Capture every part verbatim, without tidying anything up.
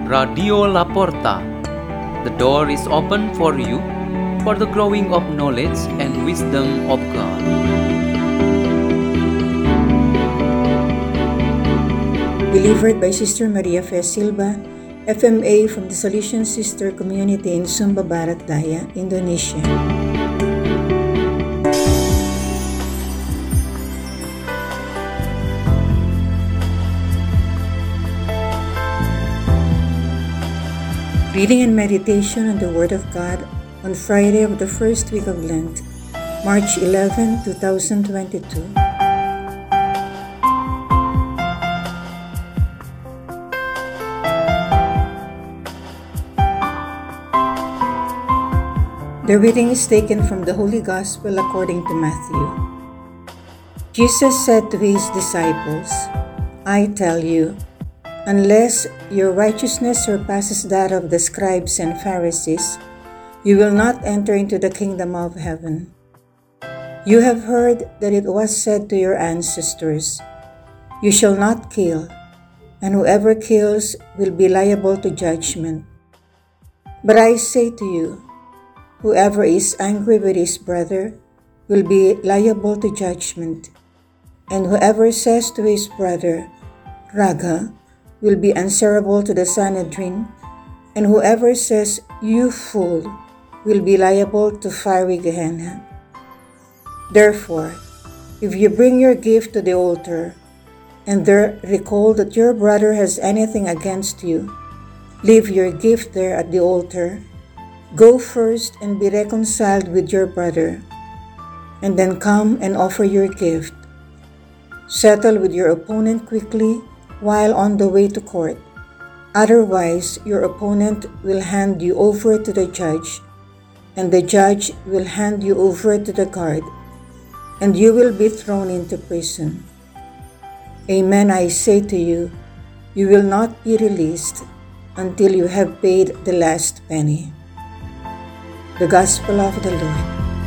Radio Laporta. The door is open for you for the growing of knowledge and wisdom of God. Delivered by Sister Maria Fe Silva, F M A from the Salesian Sister Community in Sumba Barat Daya, Indonesia. Reading and meditation on the Word of God on Friday of the first week of Lent, March eleventh, twenty twenty-two. The reading is taken from the Holy Gospel according to Matthew. Jesus said to his disciples, "I tell you, unless your righteousness surpasses that of the scribes and Pharisees, you will not enter into the kingdom of heaven. You have heard that it was said to your ancestors, 'You shall not kill, and whoever kills will be liable to judgment.' But I say to you, whoever is angry with his brother will be liable to judgment, and whoever says to his brother, 'Raga,' will be answerable to the Sanhedrin, and whoever says, 'You fool,' will be liable to fiery Gehenna. Therefore, if you bring your gift to the altar, and there recall that your brother has anything against you, leave your gift there at the altar. Go first and be reconciled with your brother, and then come and offer your gift. Settle with your opponent quickly while on the way to court. Otherwise, your opponent will hand you over to the judge, and the judge will hand you over to the guard, and you will be thrown into prison. Amen, I say to you, you will not be released until you have paid the last penny." The Gospel of the Lord.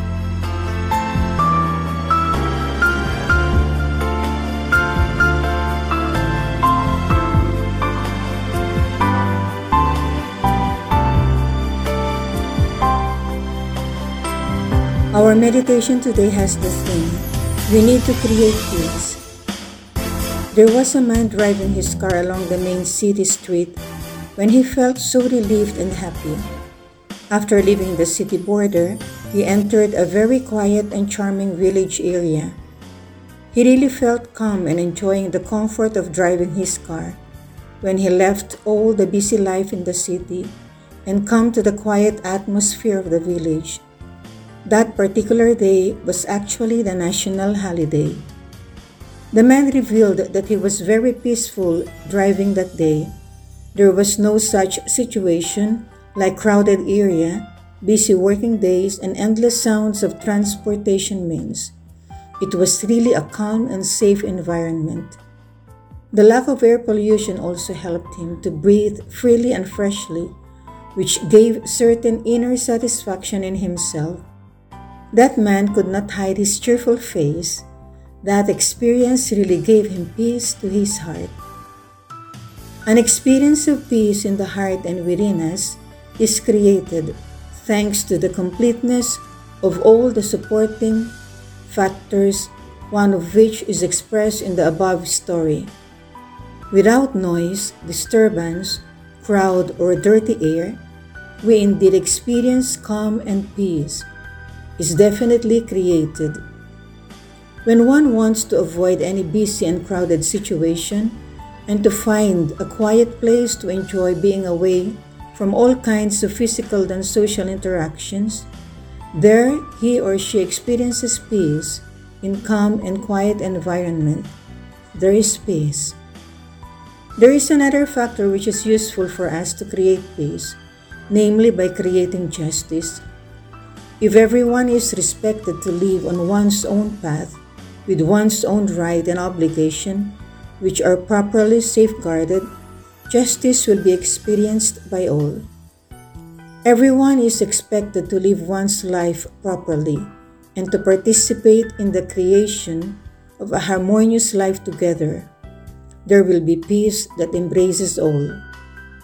Our meditation today has the theme, we need to create peace. There was a man driving his car along the main city street when he felt so relieved and happy. After leaving the city border, he entered a very quiet and charming village area. He really felt calm and enjoying the comfort of driving his car when he left all the busy life in the city and come to the quiet atmosphere of the village. That particular day was actually the national holiday. The man revealed that he was very peaceful driving that day. There was no such situation like crowded area, busy working days, and endless sounds of transportation means. It was really a calm and safe environment. The lack of air pollution also helped him to breathe freely and freshly, which gave certain inner satisfaction in himself. That man could not hide his cheerful face. That experience really gave him peace to his heart. An experience of peace in the heart and within us is created thanks to the completeness of all the supporting factors, one of which is expressed in the above story. Without noise, disturbance, crowd, or dirty air, we indeed experience calm and peace. Is definitely created. When one wants to avoid any busy and crowded situation and to find a quiet place to enjoy being away from all kinds of physical and social interactions, there he or she experiences peace in calm and quiet environment. There is peace. There is another factor which is useful for us to create peace, namely by creating justice. If everyone is respected to live on one's own path, with one's own right and obligation, which are properly safeguarded, justice will be experienced by all. Everyone is expected to live one's life properly and to participate in the creation of a harmonious life together. There will be peace that embraces all.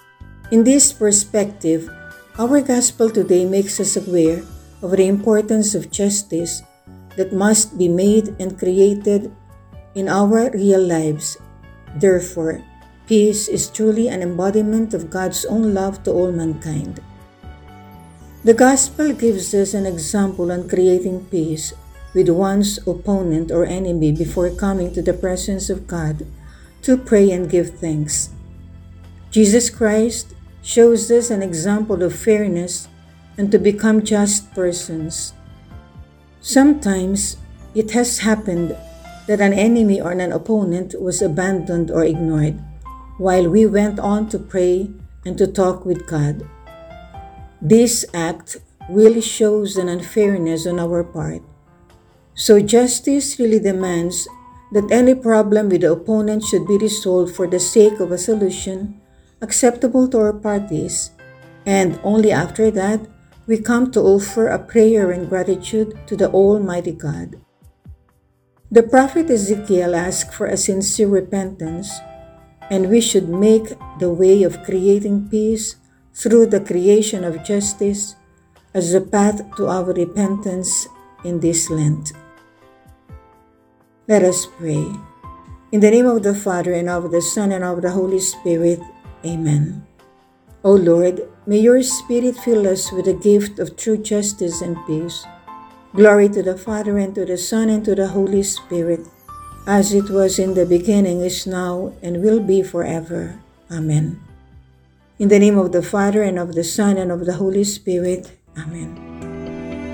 In this perspective, our gospel today makes us aware of the importance of justice that must be made and created in our real lives. Therefore, peace is truly an embodiment of God's own love to all mankind. The gospel gives us an example on creating peace with one's opponent or enemy before coming to the presence of God to pray and give thanks. Jesus Christ shows us an example of fairness and to become just persons. Sometimes it has happened that an enemy or an opponent was abandoned or ignored while we went on to pray and to talk with God. This act really shows an unfairness on our part. So justice really demands that any problem with the opponent should be resolved for the sake of a solution acceptable to our parties, and only after that we come to offer a prayer and gratitude to the Almighty God. The prophet Ezekiel asked for a sincere repentance, and we should make the way of creating peace through the creation of justice as a path to our repentance in this Lent. Let us pray. In the name of the Father, and of the Son, and of the Holy Spirit. Amen. O Lord, may your Spirit fill us with the gift of true justice and peace. Glory to the Father, and to the Son, and to the Holy Spirit, as it was in the beginning, is now, and will be forever. Amen. In the name of the Father, and of the Son, and of the Holy Spirit. Amen.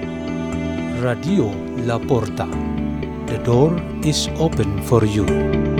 Radio La Porta. The door is open for you.